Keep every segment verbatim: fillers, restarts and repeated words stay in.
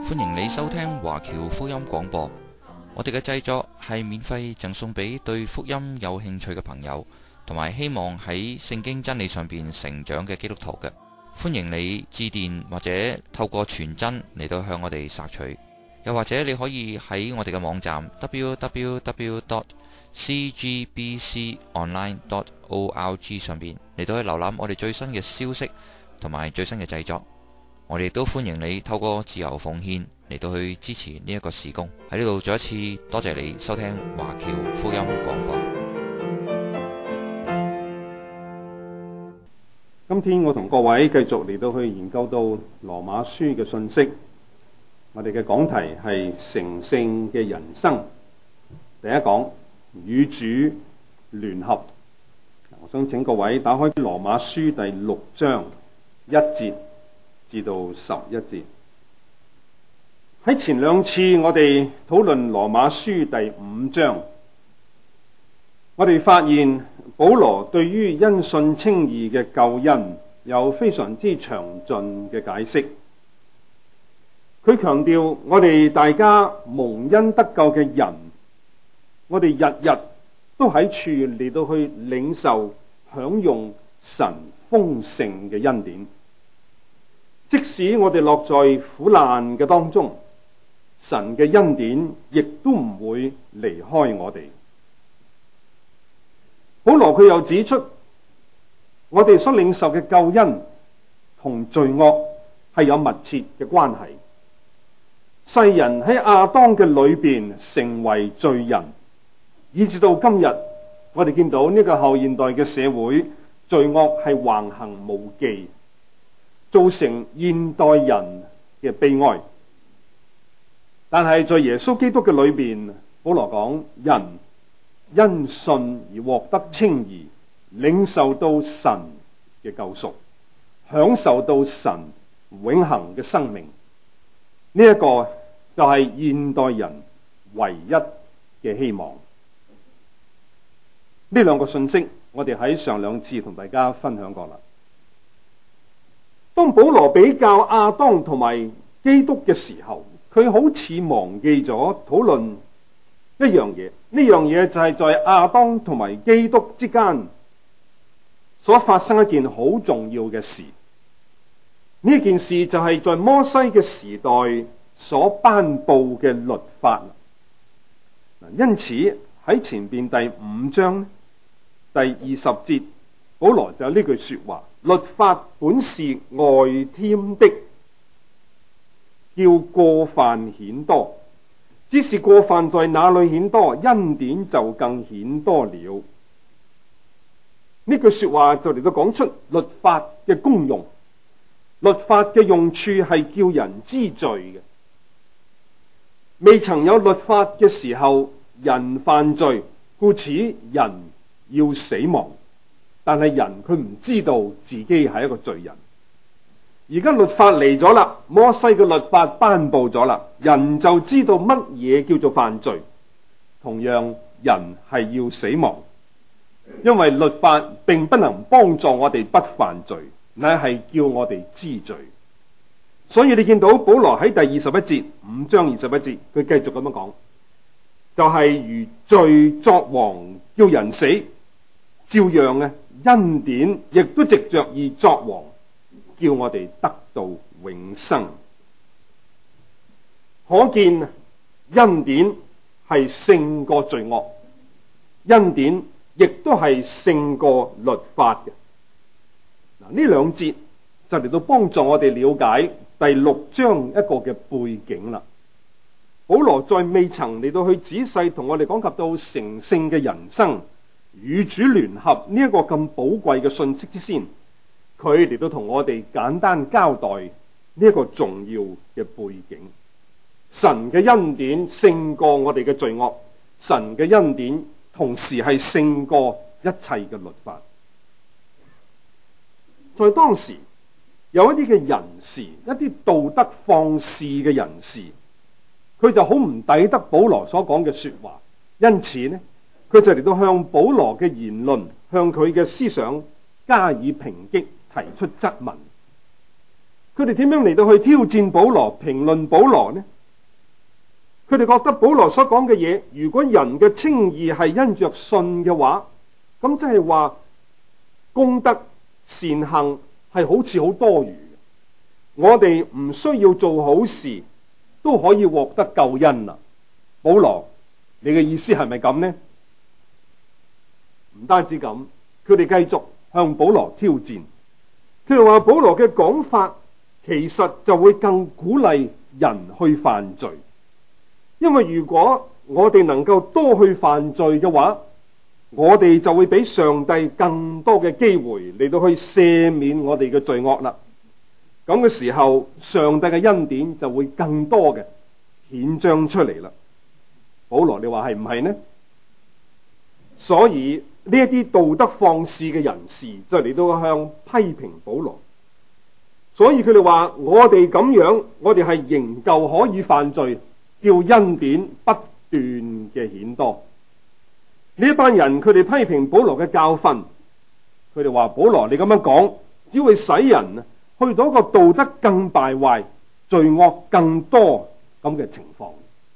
歡迎你收聽華僑福音廣播。我哋嘅製作係免費贈送俾對福音有興趣嘅朋友，同埋希望喺聖經真理上邊成長嘅基督徒嘅。歡迎你致電或者透過傳真嚟到向我哋索取，又或者你可以喺我哋嘅網站 double-u double-u double-u dot c g b c online dot org 上邊嚟到去瀏覽我哋最新嘅消息同埋最新嘅製作。我哋亦都歡迎你透過自由奉獻嚟到去支持呢一個事工。喺呢度再一次多謝你收聽華僑福音廣播。 今天我同各位繼續嚟到去研究到羅馬書嘅信息。我哋嘅講題係成聖嘅人生。第一講與主聯合。我想請各位打開羅馬書第六章一節至到十一節。喺前兩次我哋討論羅馬書第五章，我哋發現保羅對於因信稱義嘅救恩有非常之詳盡嘅解釋。佢強調我哋大家蒙恩得救嘅人，我哋日日都喺處嚟到去領受享用神豐盛嘅恩典。即使我哋落在苦難嘅當中，神嘅恩典亦都唔會離開我哋。保羅佢又指出，我哋所領受嘅救恩同罪惡係有密切嘅關係。世人喺亞當嘅裏邊成為罪人，以至到今日，我哋見到呢個後現代嘅社會，罪惡係橫行無忌，造成現代人嘅悲哀。但係在耶穌基督嘅裏邊，保羅講，人因信而獲得稱義，領受到神嘅救贖，享受到神永恆嘅生命。呢、這、一個就係現代人唯一嘅希望。呢兩個信息我哋喺上兩次同大家分享過啦。當保羅比較亞當同埋基督嘅時候，佢好似忘記咗討論一樣嘢。呢樣嘢就係在亞當同埋基督之間所發生一件好重要嘅事。呢件事就係在摩西嘅時代所頒布嘅律法。因此喺前邊第五章第二十節，保羅就有呢句說話：律法本是外添的，叫過犯顯多，只是過犯在哪裏顯多，恩典就更顯多了。呢句說話就嚟到講出律法嘅功用。律法嘅用處係叫人知罪嘅。未曾有律法嘅時候，人犯罪，故此人要死亡。但係人佢唔知道自己係一個罪人。而家律法嚟咗啦，摩西嘅律法頒布咗啦，人就知道乜嘢叫做犯罪。同樣，人係要死亡，因為律法並不能幫助我哋不犯罪，乃係叫我哋知罪。所以你見到保羅喺第二十一節，五章二十一節，佢繼續咁樣講，就係、是、如罪作王叫人死，照樣嘅恩典亦都藉着義作王，叫我哋得到永生。可見恩典係勝過罪惡，恩典亦都係勝過律法嘅。嗱，呢兩節就嚟到幫助我哋了解第六章一個嘅背景啦。保羅在未曾嚟到去仔細同我哋講及到成聖嘅人生與主聯合呢一個咁寶貴嘅信息之先，佢嚟到同我哋簡單交代呢一個重要嘅背景。神嘅恩典勝過我哋嘅罪惡，神嘅恩典同時係勝過一切嘅律法。在當時有一啲嘅人士，一啲道德放肆嘅人士，佢就好唔抵得保羅所講嘅說話，因此呢，佢就嚟到向保羅嘅言論，向佢嘅思想加以抨擊，提出質問。 佢哋點樣嚟到去挑戰保羅、評論保羅呢？佢哋覺得保羅所講嘅嘢，如果人嘅稱義係因着信嘅話，咁即係話功德善行係好似好多餘嘅。我哋唔需要做好事都可以獲得救恩啦。保羅，你嘅意思係咪咁呢？唔單止咁，佢哋繼續向保羅挑戰。佢哋話保羅嘅講法其實就會更鼓勵人去犯罪，因為如果我哋能夠多去犯罪嘅話，我哋就會俾上帝更多嘅機會嚟到去赦免我哋嘅罪惡啦。咁嘅時候，上帝嘅恩典就會更多嘅顯彰出嚟啦。保羅，你話係唔係呢？所以呢一啲道德放肆嘅人士就嚟到向批評保羅，所以佢哋話我哋咁樣，我哋係仍舊可以犯罪，叫恩典不斷嘅顯多。呢一班人佢哋批評保羅嘅教訓，佢哋話保羅你咁樣講，只會使人去到一個道德更敗壞、罪惡更多咁嘅情況。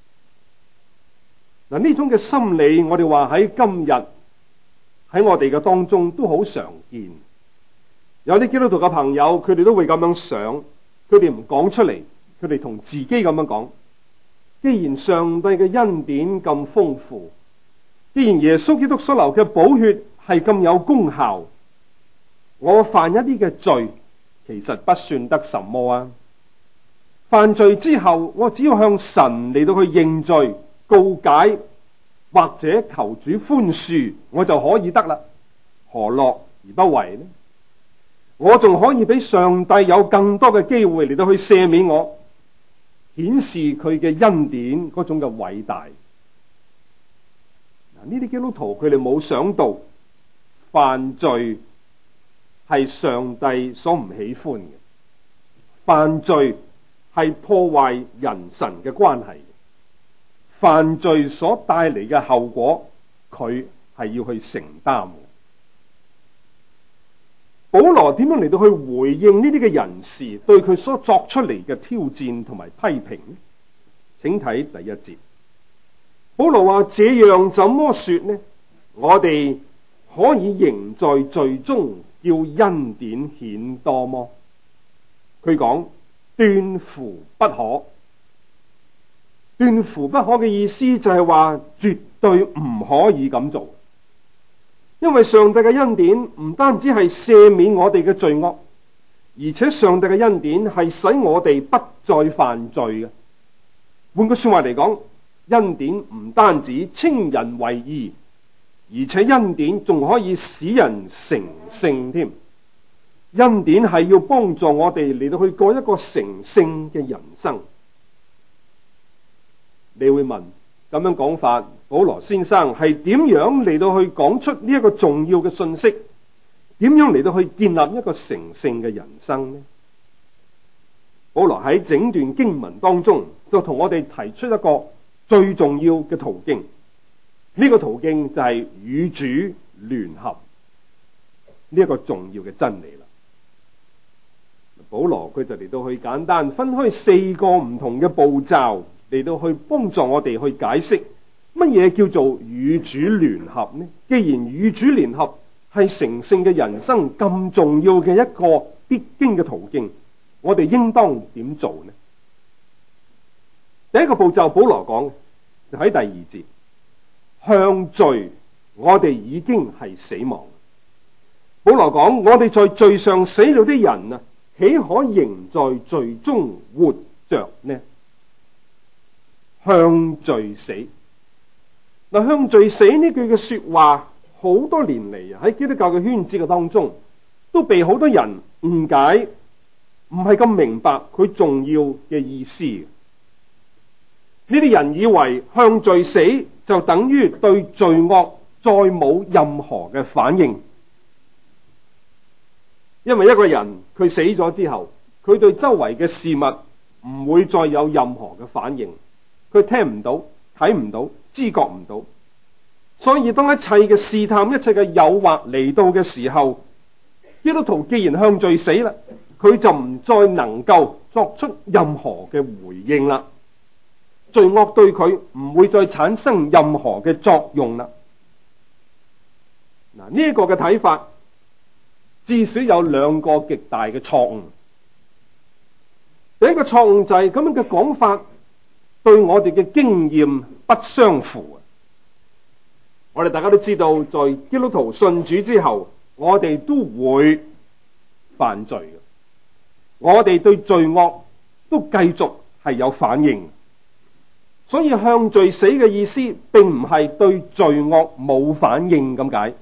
嗱，呢種嘅心理，我哋話喺今日喺我哋嘅當中都好常見。有啲基督徒嘅朋友，佢哋都會咁樣想，佢哋唔講出嚟，佢哋同自己咁樣講：既然上帝嘅恩典咁豐富，既然耶穌基督所流嘅寶血係咁有功效，我犯一啲嘅罪，其實不算得什麼啊！犯罪之後，我只要向神嚟到去認罪、告解，或者求主寬恕，我就可以得啦。何樂而不為呢？我仲可以俾上帝有更多嘅機會嚟到去赦免我，顯示佢嘅恩典嗰種嘅偉大。嗱，呢啲基督徒佢哋冇想到犯罪係上帝所唔喜歡嘅，犯罪係破壞人神嘅關係，犯罪所帶嚟嘅後果，佢係要去承擔嘅。保羅點樣嚟到去回應呢啲嘅人士對佢所作出嚟嘅挑戰同埋批評呢？請睇第一節。保羅話：這樣怎麼說呢？我哋可以仍在罪中，叫恩典顯多麼？佢講斷乎不可。斷乎不可嘅意思就係話絕對唔可以咁做。因為上帝嘅恩典唔單止係赦免我哋嘅罪惡，而且上帝嘅恩典係使我哋不再犯罪嘅。換句說話嚟講，恩典唔單止稱人為義，而且恩典仲可以使人成聖添。恩典係要幫助我哋嚟到去過一個成聖嘅人生。你會問，咁樣講法，保羅先生係點樣嚟到去講出呢一個重要嘅信息？點樣嚟到去建立一個成聖嘅人生呢？保羅喺整段經文當中就同我哋提出一個最重要嘅途徑，呢個途徑就係與主聯合，呢一個重要嘅真理啦。保羅佢就嚟到去簡單分開四個唔同嘅步驟，嚟到去幫助我哋去解釋乜嘢叫做與主聯合呢？既然與主聯合係成聖嘅人生咁重要嘅一個必經嘅途徑，我哋應當點做呢？第一個步驟，保羅講就喺第二節，向罪我哋已經係死亡。保羅講，我哋在罪上死了的人啊，豈可仍在罪中活着呢？向罪死。嗱，向罪死呢句嘅說話，好多年嚟喺基督教嘅圈子嘅當中，都被好多人誤解，唔係咁明白佢重要嘅意思。呢啲人以為向罪死就等於對罪惡再冇任何嘅反應，因為一個人佢死咗之後，佢對周圍嘅事物唔會再有任何嘅反應，佢聽唔到、睇唔到、知覺唔到，所以當一切嘅試探、一切嘅誘惑嚟到嘅時候，基督徒既然向罪死啦， 佢就唔再能夠作出任何嘅回應啦。罪惡對佢唔會再產生任何嘅作用啦。嗱，呢一個嘅睇法至少有兩個極大嘅錯誤。第一個錯誤就係咁樣嘅講法對我哋嘅經驗不相符。我哋大家都知道，在基督徒信主之後，我哋都會犯罪嘅，我哋對罪惡都繼續係有反應。所以向罪死嘅意思並唔係對罪惡冇反應咁解。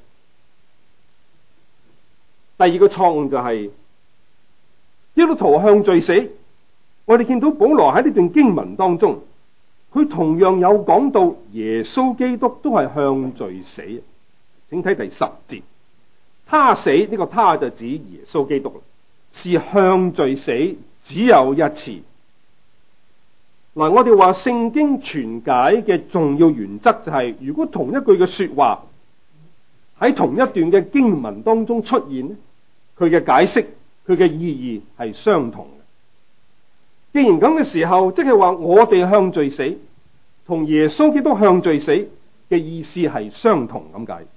第二個錯誤就係基督徒向罪死。我哋見到保羅喺呢段經文當中，佢同樣有講到耶穌基督都係向罪死。請睇第十節，他死，呢個他就指耶穌基督，是向罪死，只有一次。嗱，我哋話聖經傳解嘅重要原則就係，如果同一句嘅說話喺同一段嘅經文當中出現，佢嘅解釋，佢嘅意義係相同嘅。既然咁嘅時候，即係話我哋向罪死同耶穌基督向罪死嘅意思係相同咁解。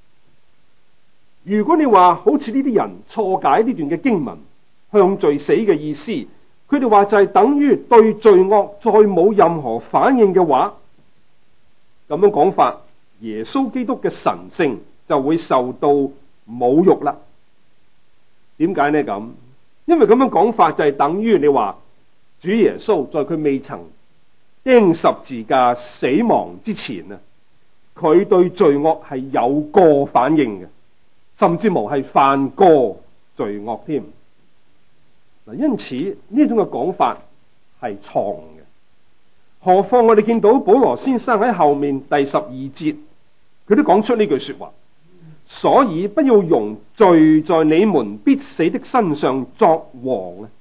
如果你話好似呢啲人錯解呢段嘅經文向罪死嘅意思，佢哋話就係等於對罪惡再冇任何反應嘅話，咁樣講法，耶穌基督嘅神性就會受到侮辱啦。點解呢？咁因為咁樣講法就係等於你話主耶穌在佢未曾釘十字架死亡之前啊，佢對罪惡係有過反應嘅，甚至無係犯過罪惡添。嗱，因此呢種嘅講法係錯誤嘅。何況我哋見到保羅先生喺後面第十二節，佢都講出呢句說話。所以不要容罪在你們必死的身上作王啊！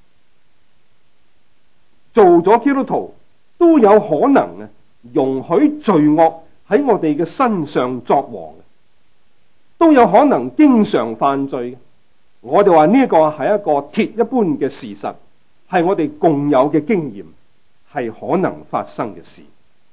做咗基督徒都有可能啊，容許罪惡喺我哋嘅身上作王，都有可能經常犯罪。我哋話呢一個係一個鐵一般嘅事實，係我哋共有嘅經驗，係可能發生嘅事。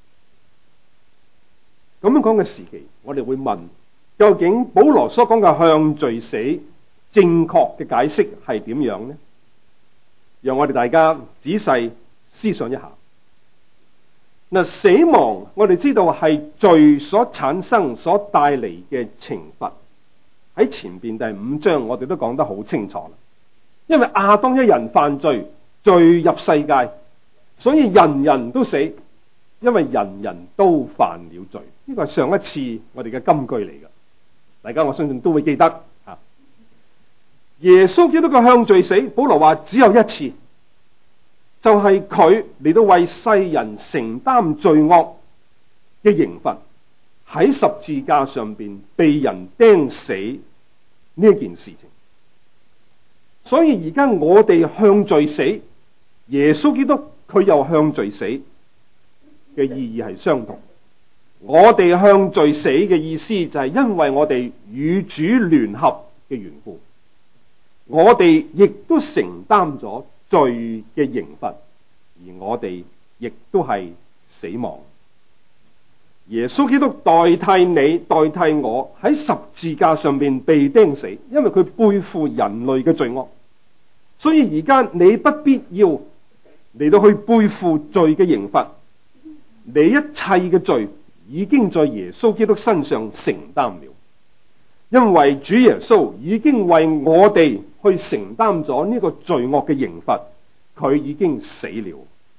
咁樣講嘅時期，我哋會問，究竟保羅所講嘅向罪死正確嘅解釋係點樣呢？讓我哋大家仔細思想一下。嗱，死亡我哋知道係罪所產生、所帶嚟嘅懲罰。喺前邊第五章我哋都講得好清楚啦。因為亞當一人犯罪，罪入世界，所以人人都死，因為人人都犯了罪。呢個係上一次我哋嘅金句嚟㗎。大家我相信都會記得啊。耶穌基督嘅向罪死，保羅話只有一次，就係佢嚟到為世人承擔罪惡嘅刑罰，喺十字架上邊被人釘死呢一件事情。所以而家我哋向罪死，耶穌基督佢又向罪死嘅意義係相同。我哋向罪死嘅意思就係因為我哋與主聯合嘅緣故，我哋亦都承擔咗罪嘅刑罰，而我哋亦都係死亡。耶穌基督代替你、代替我喺十字架上面被釘死，因為佢背負人類嘅罪惡，所以而家你不必要嚟到去背負罪嘅刑罰，你一切嘅罪已經在耶穌基督身上承擔了，因為主耶穌已經為我哋去承擔咗呢個罪惡嘅刑罰，佢已經死了。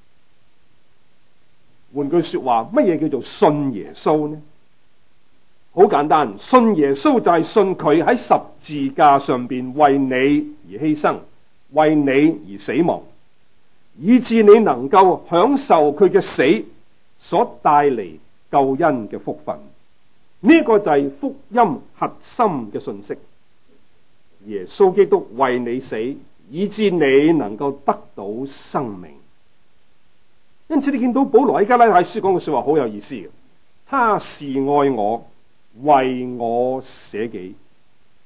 換句說話，乜嘢叫做信耶穌呢？好簡單，信耶穌就係信佢喺十字架上邊為你而犧牲，為你而死亡，以致你能夠享受佢嘅死所帶嚟救恩嘅福分。呢、這個就係福音核心嘅信息。耶穌基督為你死，以致你能夠得到生命。因此你見到保羅喺加拉太書講嘅說話好有意思嘅，他是愛我，為我捨己。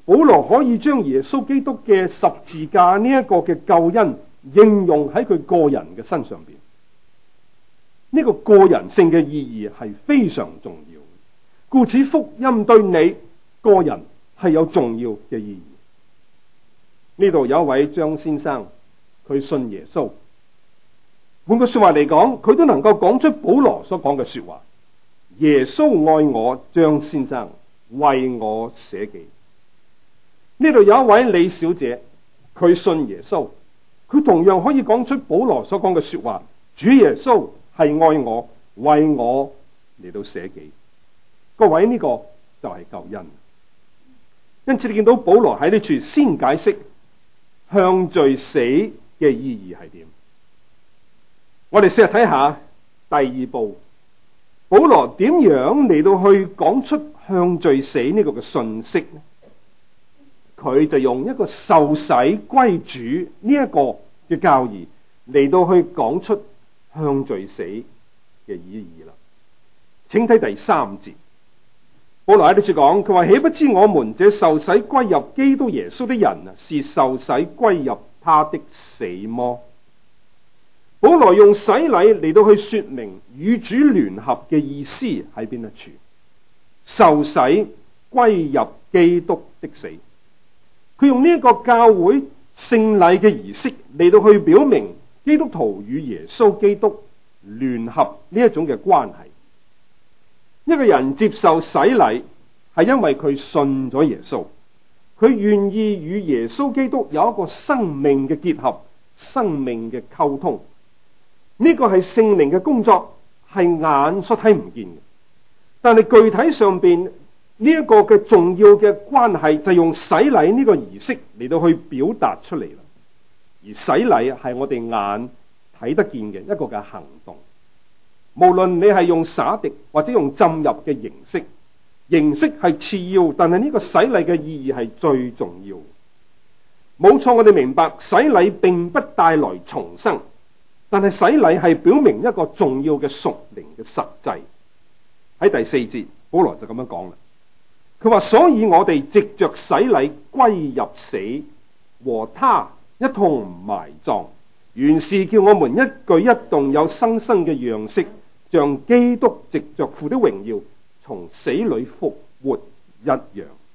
保羅可以將耶穌基督嘅十字架呢一個嘅救恩應用喺佢個人嘅身上邊。呢個個人性嘅意義係非常重要，故此福音對你個人係有重要嘅意義。呢度有一位張先生，佢信耶穌。換句說話嚟講，佢都能夠講出保羅所講嘅說話。耶穌愛我，張先生為我捨己。呢度有一位李小姐，佢信耶穌，佢同樣可以講出保羅所講嘅說話。主耶穌係愛我，為我嚟到捨己。各位，呢個就係救恩。因此你見到保羅喺呢處先解釋向罪死嘅意義係點。我哋試下睇下第二步，保羅點樣嚟到去講出向罪死呢個嘅信息呢？佢就用一個受洗歸主呢一個嘅教義嚟到去講出向罪死嘅意義啦。請睇第三節，保羅喺呢處講，佢話豈不知我們這受洗歸入基督耶穌的人啊，是受洗歸入他的死麼？保羅用洗禮嚟到去說明與主聯合嘅意思喺邊一處？受洗歸入基督的死。佢用呢一個教會聖禮嘅儀式嚟到去表明基督徒與耶穌基督聯合呢一種嘅關係。一個人接受洗禮係因為佢信咗耶穌，佢願意與耶穌基督有一個生命嘅結合、生命嘅溝通。呢個係聖靈嘅工作，係眼所睇唔見嘅，但係具體上邊呢一個嘅重要嘅關係就用洗禮呢個儀式嚟到去表達出嚟啦。而洗禮係我哋眼睇得見嘅一個嘅行動，無論你係用灑滴或者用浸入嘅形式，形式係次要，但係呢個洗禮嘅意義係最重要。冇錯，我哋明白洗禮並不帶來重生。但係洗禮係表明一個重要嘅屬靈嘅實際。喺第四節，保羅就咁樣講啦。佢話：所以我哋藉着洗禮歸入死，和他一同埋葬，原是叫我們一舉一動有生生嘅樣式，像基督藉着父的榮耀從死裏復活一樣。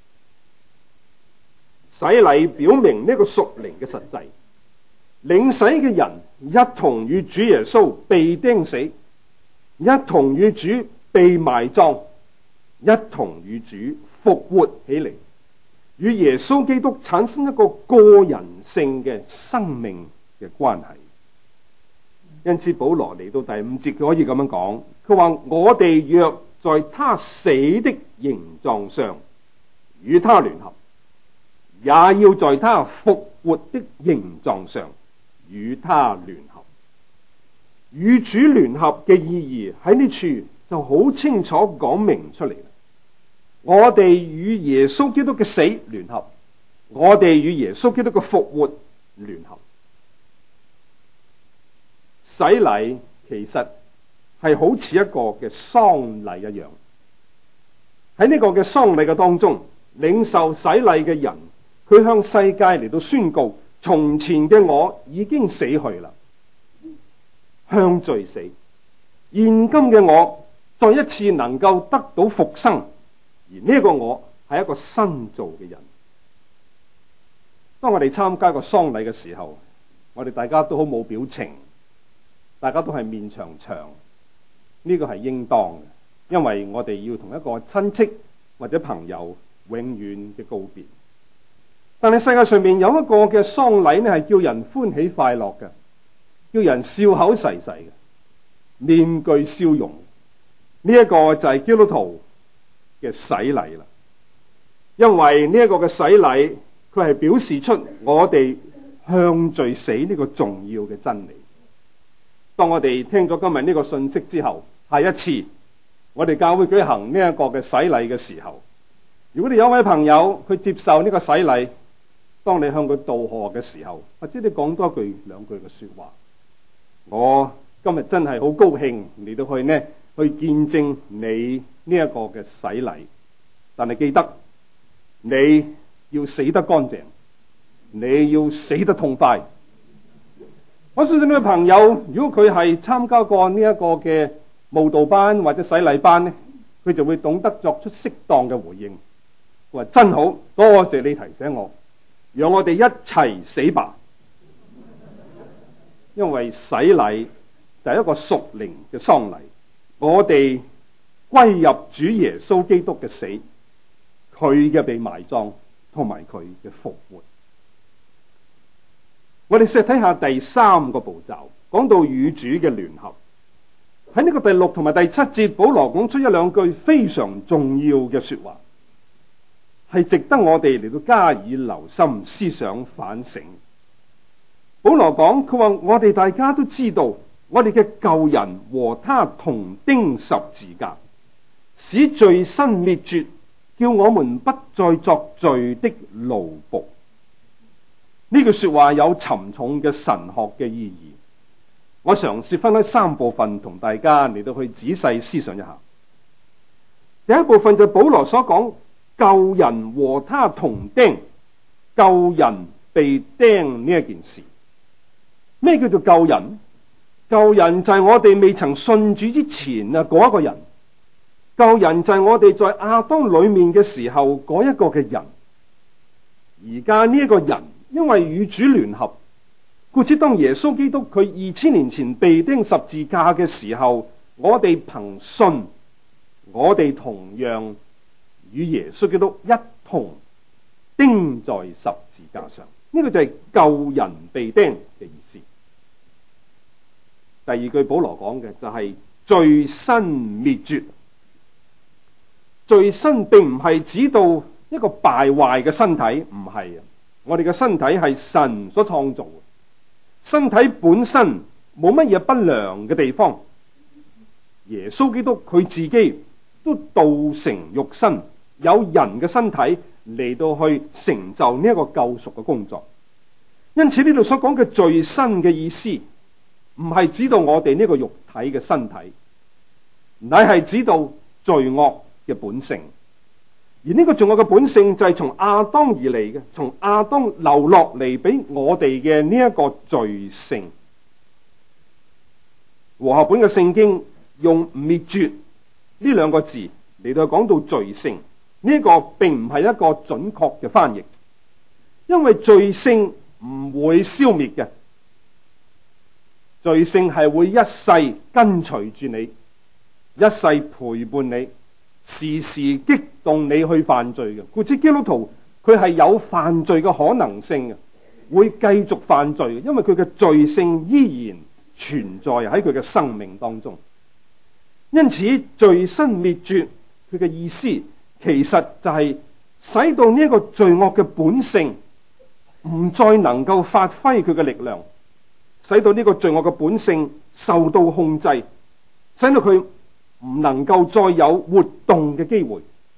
洗禮表明呢個屬靈嘅實際。領洗嘅人一同與主耶穌被釘死，一同與主被埋葬，一同與主復活起嚟，與耶穌基督產生一個個人性嘅生命嘅關係。因此保羅嚟到第五節，佢可以咁樣講，佢話：我哋若在他死的形狀上與他聯合，也要在他復活的形狀上與他聯合。與主聯合嘅意義喺呢處就好清楚講明出嚟。我哋與耶穌基督嘅死聯合，我哋與耶穌基督嘅復活聯合。洗禮其實係好似一個嘅喪禮一樣。喺呢個嘅喪禮嘅當中，領受洗禮嘅人，佢向世界嚟到宣告：從前嘅我已經死去啦，向罪死；現今嘅我再一次能夠得到復生，而呢個我係一個新造嘅人。當我哋參加個喪禮嘅時候，我哋大家都好冇表情，大家都係面長長，呢個係應當嘅，因為我哋要同一個親戚或者朋友永遠嘅告別。但係世界上面有一個嘅喪禮呢，係叫人歡喜快樂嘅，叫人笑口噬噬嘅，面具笑容。呢一個就係基督徒嘅洗禮啦。因為呢一個嘅洗禮，佢係表示出我哋向罪死呢個重要嘅真理。當我哋聽咗今日呢個信息之後，下一次我哋教會舉行呢一個嘅洗禮嘅時候，如果你有位朋友佢接受呢個洗禮，當你向佢道賀嘅時候，或者你講多句兩句嘅說話，我今日真係好高興嚟到去呢去見證你呢一個嘅洗禮。但係記得你要死得乾淨，你要死得痛快。我相信呢位朋友，如果佢係參加過呢一個嘅慕道班或者洗禮班呢，佢就會懂得作出適當嘅回應。佢話真好，多謝你提醒我，讓我哋一齊死吧。因為洗禮就係一個屬靈嘅喪禮，我哋歸入主耶穌基督嘅死，佢嘅被埋葬同埋佢嘅復活。我哋試睇下第三個步驟，講到與主嘅聯合。喺呢個第六同埋第七節，保羅講出一兩句非常重要嘅說話，係值得我哋嚟到加以留心、思想、反省。保羅講，佢話我哋大家都知道，我哋嘅舊人和他同釘十字架，使罪身滅絕，叫我們不再作罪的奴僕。呢句說話有沉重嘅神學嘅意義，我嘗試分開三部分同大家嚟到去仔細思想一下。第一部分就係保羅所講，舊人和他同釘，舊人被釘呢一件事。咩叫做舊人？舊人就係我哋未曾信主之前啊嗰一個人，舊人就係我哋在亞當裏面嘅時候嗰一個嘅人。而家呢一個人因為與主聯合，故此當耶穌基督佢二千年前被釘十字架嘅時候，我哋憑信，我哋同樣與耶穌基督一同釘在十字架上。呢、這個就係舊人被釘嘅意思。第二句保羅講嘅就係罪身滅絕。罪身並唔係指到一個敗壞嘅身體，唔係啊。我哋嘅身體係神所創造嘅，身體本身冇乜嘢不良嘅地方。耶穌基督佢自己都道成肉身，有人嘅身體嚟到去成就呢一個救贖嘅工作。因此呢度所講嘅罪身嘅意思，唔係指到我哋呢個肉體嘅身體，乃係指到罪惡嘅本性。而呢個罪惡嘅本性就係從亞當而嚟嘅，從亞當流落嚟俾我哋嘅呢一個罪性。和合本嘅聖經用滅絕呢兩個字嚟到講到罪性，呢、這個並唔係一個準確嘅翻譯，因為罪性唔會消滅嘅，罪性係會一世跟隨住你，一世陪伴你，時時激動你去犯罪嘅。故此基督徒佢係有犯罪嘅可能性嘅，會繼續犯罪嘅，因為佢嘅罪性依然存在喺佢嘅生命當中。因此罪身滅絕，佢嘅意思其實就係使到呢一個罪惡嘅本性唔再能夠發揮佢嘅力量，使到呢個罪惡嘅本性受到控制，使到佢唔能夠再有活動嘅機會。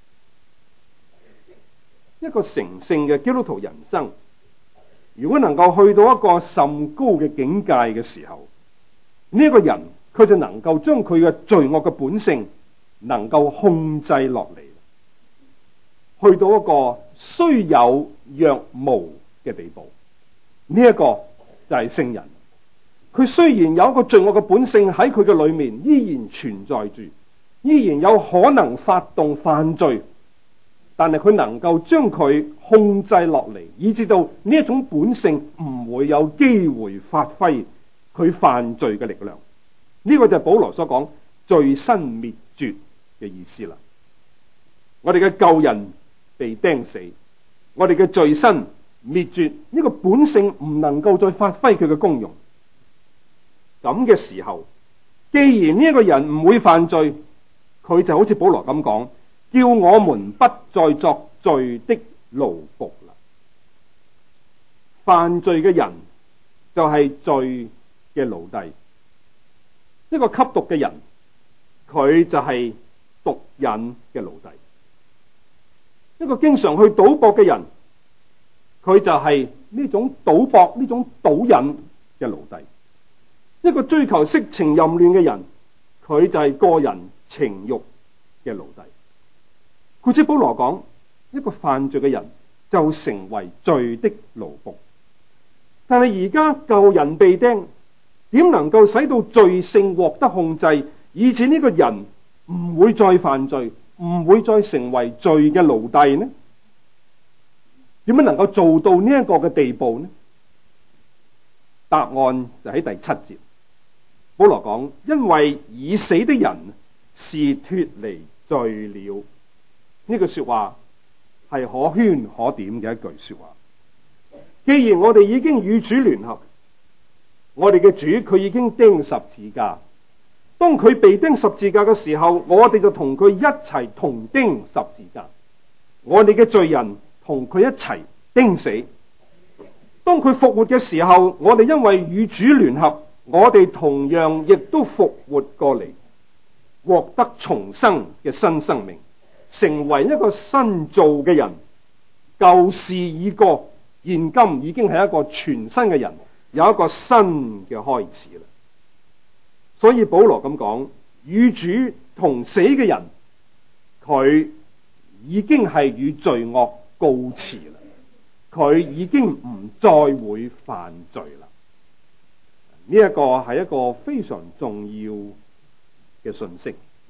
一個成聖嘅基督徒人生，如果能夠去到一個甚高嘅境界嘅時候，呢一個人佢就能夠將佢嘅罪惡嘅本性能夠控制落嚟，去到一個雖有若無嘅地步。呢一個就係聖人，佢雖然有一個罪惡嘅本性喺佢嘅裏面依然存在住，依然有可能發動犯罪，但係佢能夠將佢控制落嚟，以至到呢一種本性唔會有機會發揮佢犯罪嘅力量。呢個就係保羅所講罪身滅絕嘅意思啦。我哋嘅舊人被釘死，我哋嘅罪身滅絕，呢個本性唔能夠再發揮佢嘅功用。咁嘅時候，既然呢一個人唔會犯罪，佢就好似保羅咁講，叫我們不再作罪的奴僕啦。犯罪嘅人就係罪嘅奴隸。一個吸毒嘅人，佢就係毒癮嘅奴隸。一個經常去賭博嘅人，佢就係呢種賭博呢種賭癮嘅奴隸。一個追求色情淫亂嘅人，佢就係個人情慾嘅奴隸。故此保羅講，一個犯罪嘅人就成為罪的奴僕。但係而家舊人被釘，點能夠使到罪性獲得控制，以致呢個人唔會再犯罪，唔會再成為罪嘅奴隸呢？點樣能夠做到呢一個嘅地步呢？答案就喺第七節。保羅講，因為已死的人是脫離罪了。呢句說話係可圈可點嘅一句說話。既然我哋已經與主聯合，我哋嘅主佢已經釘十字架。當佢被釘十字架嘅時候，我哋就同佢一齊同釘十字架。我哋嘅罪人同佢一齊釘死。當佢復活嘅時候，我哋因為與主聯合，我哋同樣亦都復活過嚟，獲得重生嘅新生命，成為一個新造嘅人。舊事已過，現今已經係一個全新嘅人，有一個新嘅開始啦。所以保羅咁講，與主同死嘅人，佢已經係與罪惡告辭啦。佢已經唔再會犯罪啦。呢一個係一個非常重要嘅信息。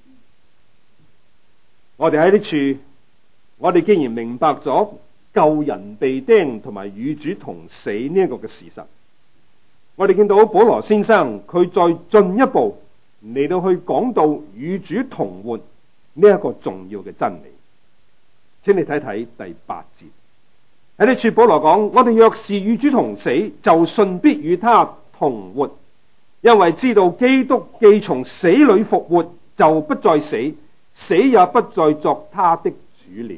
我哋喺呢處，我哋既然明白咗舊人被釘同埋與主同死呢一個嘅事實，我哋見到保羅先生佢再進一步嚟到去講到與主同活呢一個重要嘅真理。請你睇睇第八節。喺呢處保羅講，我哋若是與主同死，就信必與他同活，因為知道基督既從死裏復活，就不再死，死也不再作他的主了。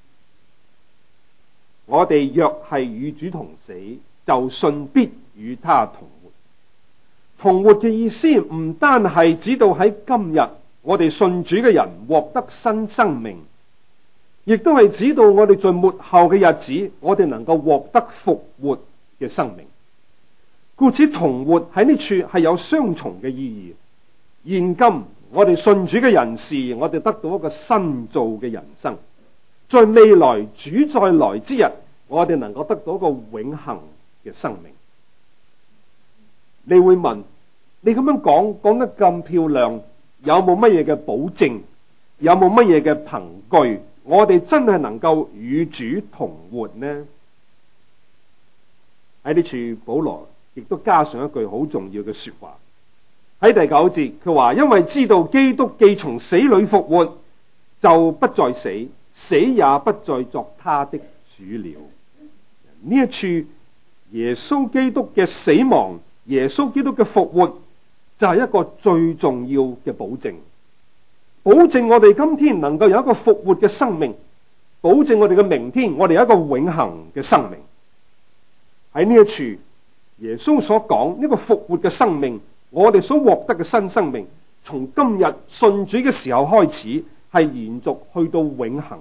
我哋若係與主同死，就信必與他同活。同活嘅意思唔單係指到喺今日我哋信主嘅人獲得新生命，亦都係指到我哋在末後嘅日子，我哋能夠獲得復活嘅生命。故此同活喺呢處係有雙重嘅意義。現今我哋信主嘅人士，我哋得到一個新造嘅人生。在未來主再來之日，我哋能夠得到一個永恆嘅生命。你會問，你咁樣講講得咁漂亮，有冇乜嘢嘅保證？有冇乜嘢嘅憑據？我哋真係能夠與主同活呢？喺呢處保羅亦都加上一句好重要嘅說話。喺第九節佢話，因為知道基督既從死裏復活，就不再死，死也不再作他的主了。呢一處耶穌基督嘅死亡，耶穌基督嘅復活，就係一個最重要嘅保證。保證我哋今天能夠有一個復活嘅生命，保證我哋嘅明天我哋有一個永恆嘅生命。喺呢一處耶穌所講呢個復活嘅生命，我哋所獲得嘅新生命，從今日信主嘅時候開始，係延續去到永恆。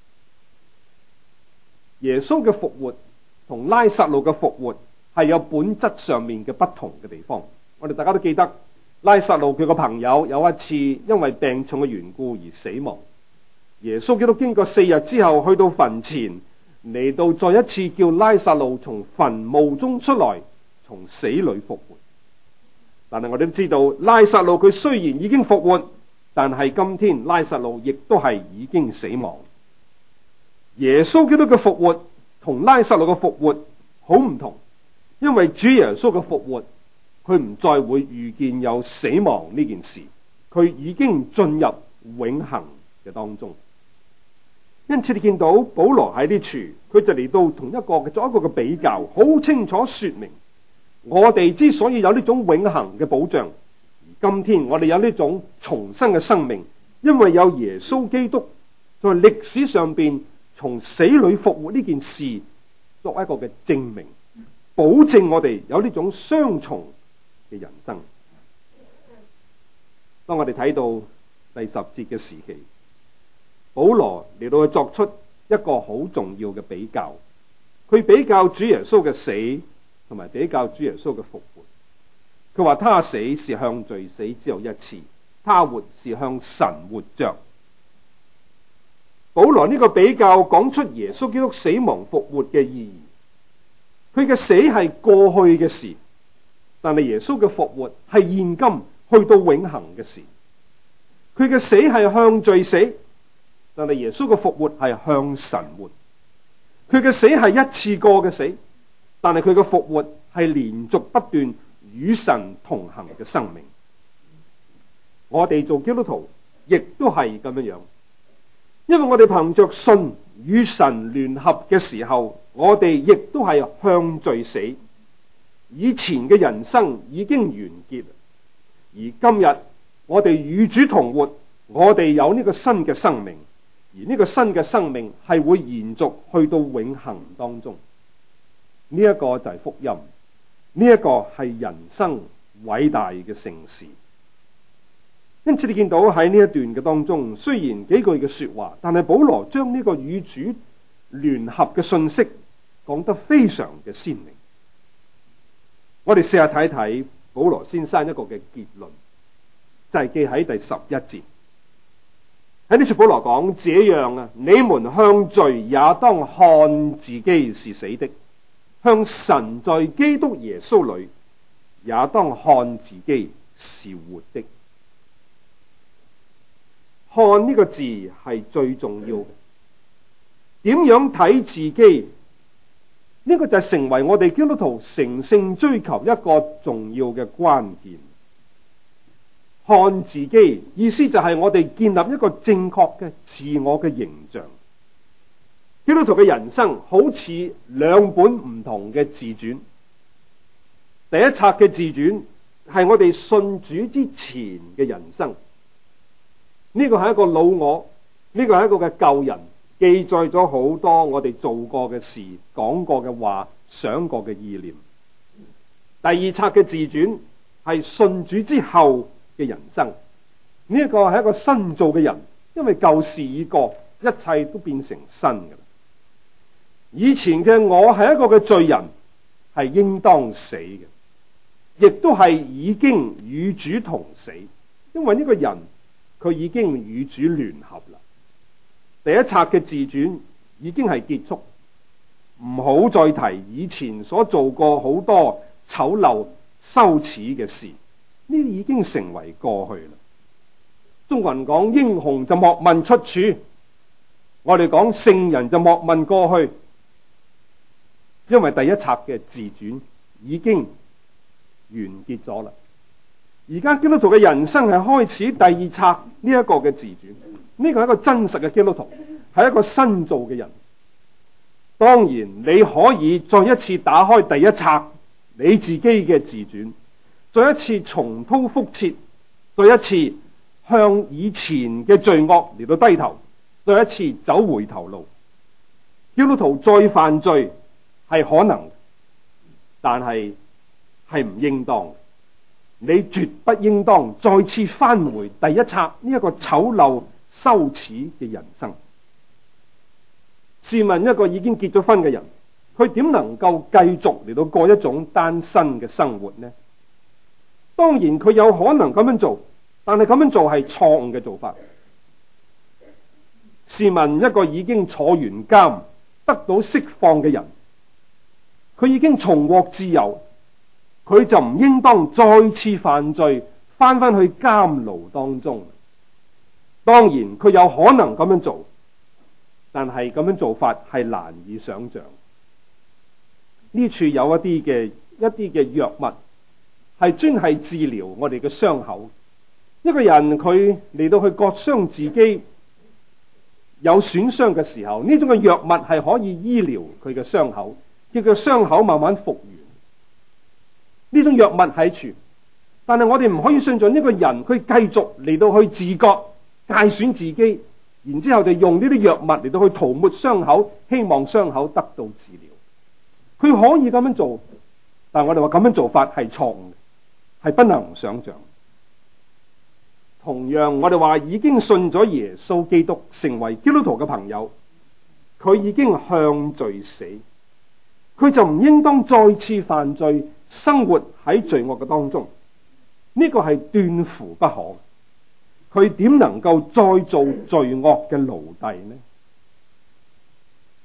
耶穌嘅復活同拉撒路嘅復活係有本質上面嘅不同嘅地方。我哋大家都記得，拉撒路佢個朋友有一次因為病重嘅緣故而死亡，耶穌基督經過四日之後去到墳前，嚟到再一次叫拉撒路從墳墓中出來，從死裏復活。但係我哋都知道，拉撒路佢雖然已經復活，但係今天拉撒路亦都係已經死亡。耶穌基督嘅復活同拉撒路嘅復活好唔同，因為主耶穌嘅復活，佢唔再會預見有死亡呢件事，佢已經進入永恆嘅當中。因此你見到保羅喺呢處，佢就嚟到同一個嘅作一個嘅比較，好清楚說明我哋之所以有呢種永恆嘅保障，而今天我哋有呢種重生嘅生命，因為有耶穌基督在歷史上邊從死裏復活呢件事作一個嘅證明，保證我哋有呢種雙重嘅人生。當我哋睇到第十節嘅時期，保羅嚟到去作出一個好重要嘅比較，佢比較主耶穌嘅死同埋比較主耶穌嘅復活。佢話他死是向罪死，只有一次；他活是向神活着。 保羅呢個比較講出耶穌基督死亡復活嘅意義。佢嘅死係過去嘅事，但係耶穌嘅復活係現今去到永恆嘅事。佢嘅死係向罪死，但係耶穌嘅復活係向神活。佢嘅死係一次過嘅死，但係佢嘅復活係連續不斷與神同行嘅生命。我哋做基督徒亦都係咁樣樣，因為我哋憑着信與神聯合嘅時候，我哋亦都係向罪死。以前嘅人生已經完結，而今日我哋與主同活，我哋有呢個新嘅生命，而呢個新嘅生命係會延續去到永恆當中。呢一個就係福音，呢一個係人生偉大嘅盛事。因此你見到喺呢一段嘅當中，雖然幾句嘅說話，但係保羅將呢個與主聯合嘅信息講得非常嘅鮮明。我哋試下睇睇保羅先生一個嘅結論，就係記喺第十一節。喺呢處保羅講，這樣啊，你們向罪也當看自己是死的，向神在基督耶穌裏也當看自己是活的。看呢個字係最重要嘅，點樣睇自己？呢個就係成為我哋基督徒成聖追求一個重要嘅關鍵。看自己意思就係我哋建立一個正確嘅自我嘅形象。基督徒嘅人生好似兩本唔同嘅自傳。第一冊嘅自傳係我哋信主之前嘅人生，呢個係一個老我，呢個係一個嘅舊人，記載咗好多我哋做過嘅事、講過嘅話、想過嘅意念。第二冊嘅自傳係信主之後嘅人生，呢一個係一個新造嘅人，因為舊事已過，一切都變成新嘅啦。以前嘅我係一個嘅罪人，係應當死嘅，亦都係已經與主同死，因為呢個人佢已經與主聯合啦。第一冊嘅自傳已經係結束，唔好再提以前所做過好多醜陋羞恥嘅事，呢啲已經成為過去啦。中國人講英雄就莫問出處，我哋講聖人就莫問過去，因為第一冊嘅自傳已經完結咗啦。而家基督徒嘅人生係開始第二冊呢一個嘅自傳，呢個係一個真實嘅基督徒，係一個新造嘅人。當然你可以再一次打開第一冊你自己嘅自傳，再一次重蹈覆轍，再一次向以前嘅罪惡嚟到低頭，再一次走回頭路。基督徒再犯罪係可能，但係係唔應當。你絕不應當再次返回第一冊呢一個醜陋羞恥嘅人生。試問一個已經結咗婚嘅人，佢點能夠繼續嚟到過一種單身嘅生活呢？當然佢有可能咁樣做，但係咁樣做係錯誤嘅做法。試問一個已經坐完監得到釋放嘅人，佢已經重獲自由，佢就唔應當再次犯罪，翻返去監牢當中。當然佢有可能咁樣做，但係咁樣做法係難以想象。呢處有一啲嘅一啲嘅藥物係專係治療我哋嘅傷口。一個人佢嚟到去割傷自己有損傷嘅時候，呢種嘅藥物係可以醫療佢嘅傷口，叫佢傷口慢慢復原。呢種藥物喺處，但係我哋唔可以相信呢個人佢繼續嚟到去自割界損自己，然之後就用呢啲藥物嚟到去塗抹傷口，希望傷口得到治療。佢可以咁樣做，但係我哋話咁樣做法係錯誤嘅，係不能想象。同樣我哋話已經信咗耶穌基督成為基督徒嘅朋友，佢已經向罪死，佢就唔應當再次犯罪，生活喺罪惡嘅當中。呢個係斷乎不可。佢點能夠再做罪惡嘅奴隸呢？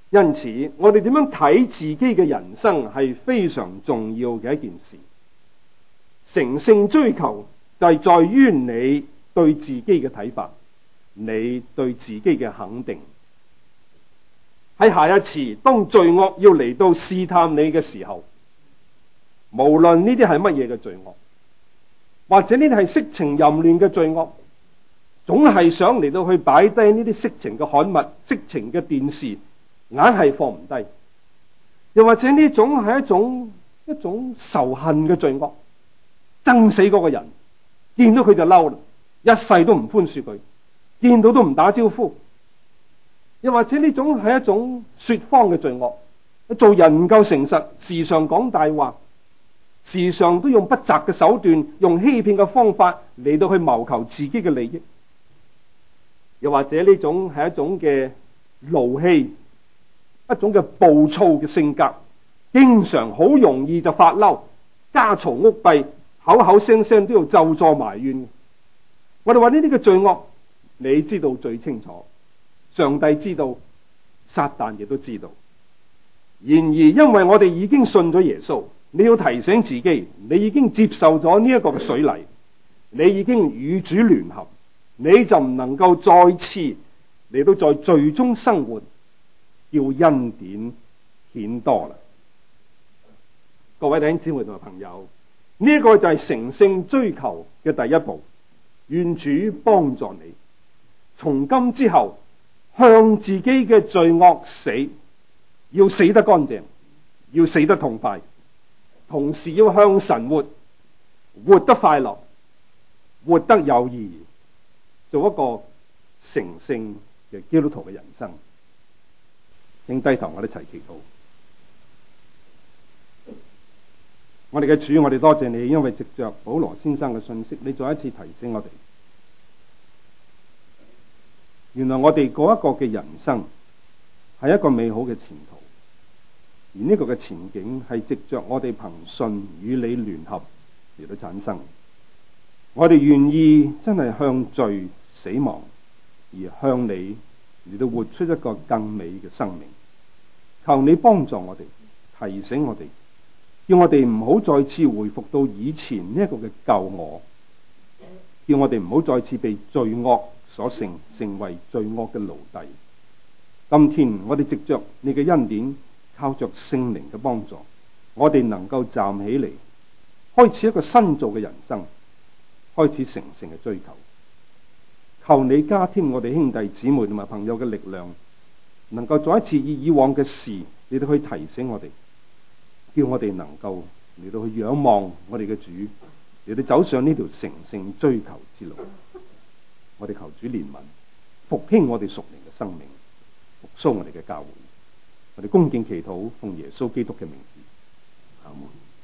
因此，我哋點樣睇自己嘅人生係非常重要嘅一件事。成聖追求就係在於你對自己嘅睇法，你對自己嘅肯定。喺下一次當罪惡要嚟到試探你嘅時候，無論呢啲係乜嘢嘅罪惡，或者呢啲係色情淫亂嘅罪惡，總係想嚟到去擺低呢啲色情嘅刊物、色情嘅電視，硬係放唔低。又或者呢種係一種一種仇恨嘅罪惡，憎死嗰個人，見到佢就嬲啦，一世都唔寬恕佢，見到都唔打招呼。又或者呢種係一種說謊嘅罪惡，做人唔夠誠實，時常講大話，時常都用不擇嘅手段，用欺騙嘅方法嚟到去謀求自己嘅利益。又或者呢種係一種嘅怒氣，一種嘅暴躁嘅性格，經常好容易就發嬲，家嘈屋閉，口口聲聲都要咒詛埋怨。我哋話呢啲嘅罪惡，你知道最清楚，上帝知道，撒旦亦都知道。然而因為我哋已經信咗耶穌，你要提醒自己，你已經接受咗呢一個嘅水禮，你已經與主聯合，你就唔能夠再次嚟到在罪中生活，叫恩典顯多啦。各位弟兄姊妹同埋朋友，呢、這、一個就係成聖追求嘅第一步。願主幫助你，從今之後向自己嘅罪惡死，要死得乾淨，要死得痛快，同時要向神活，活得快樂，活得有意義，做一個成聖嘅基督徒嘅人生。請低頭，我哋一齊祈禱。我哋嘅主，我哋多謝你，因為藉着保羅先生嘅信息，你再一次提醒我哋，原來我哋嗰一個嘅人生係一個美好嘅前途，而呢個嘅前景係藉着我哋憑信與你聯合嚟到產生。我哋願意真係向罪死亡，而向你嚟到活出一個更美嘅生命。求你幫助我哋，提醒我哋，叫我哋唔好再次回復到以前呢一個嘅舊我，叫我哋唔好再次被罪惡所勝，成為罪惡嘅奴隸。今天我哋藉着你嘅恩典，靠着聖靈嘅幫助，我哋能夠站起嚟，開始一個新造嘅人生，開始成聖嘅追求。求你加添我哋兄弟姊妹同埋朋友嘅力量，能夠再一次以以往嘅事嚟到去提醒我哋，叫我哋能夠嚟到去仰望我哋嘅主，嚟到走上呢條成聖追求之路。我哋求主憐憫，復興我哋屬靈嘅生命，復甦我哋嘅教會。我哋恭敬祈禱，奉耶穌基督嘅名字，阿門。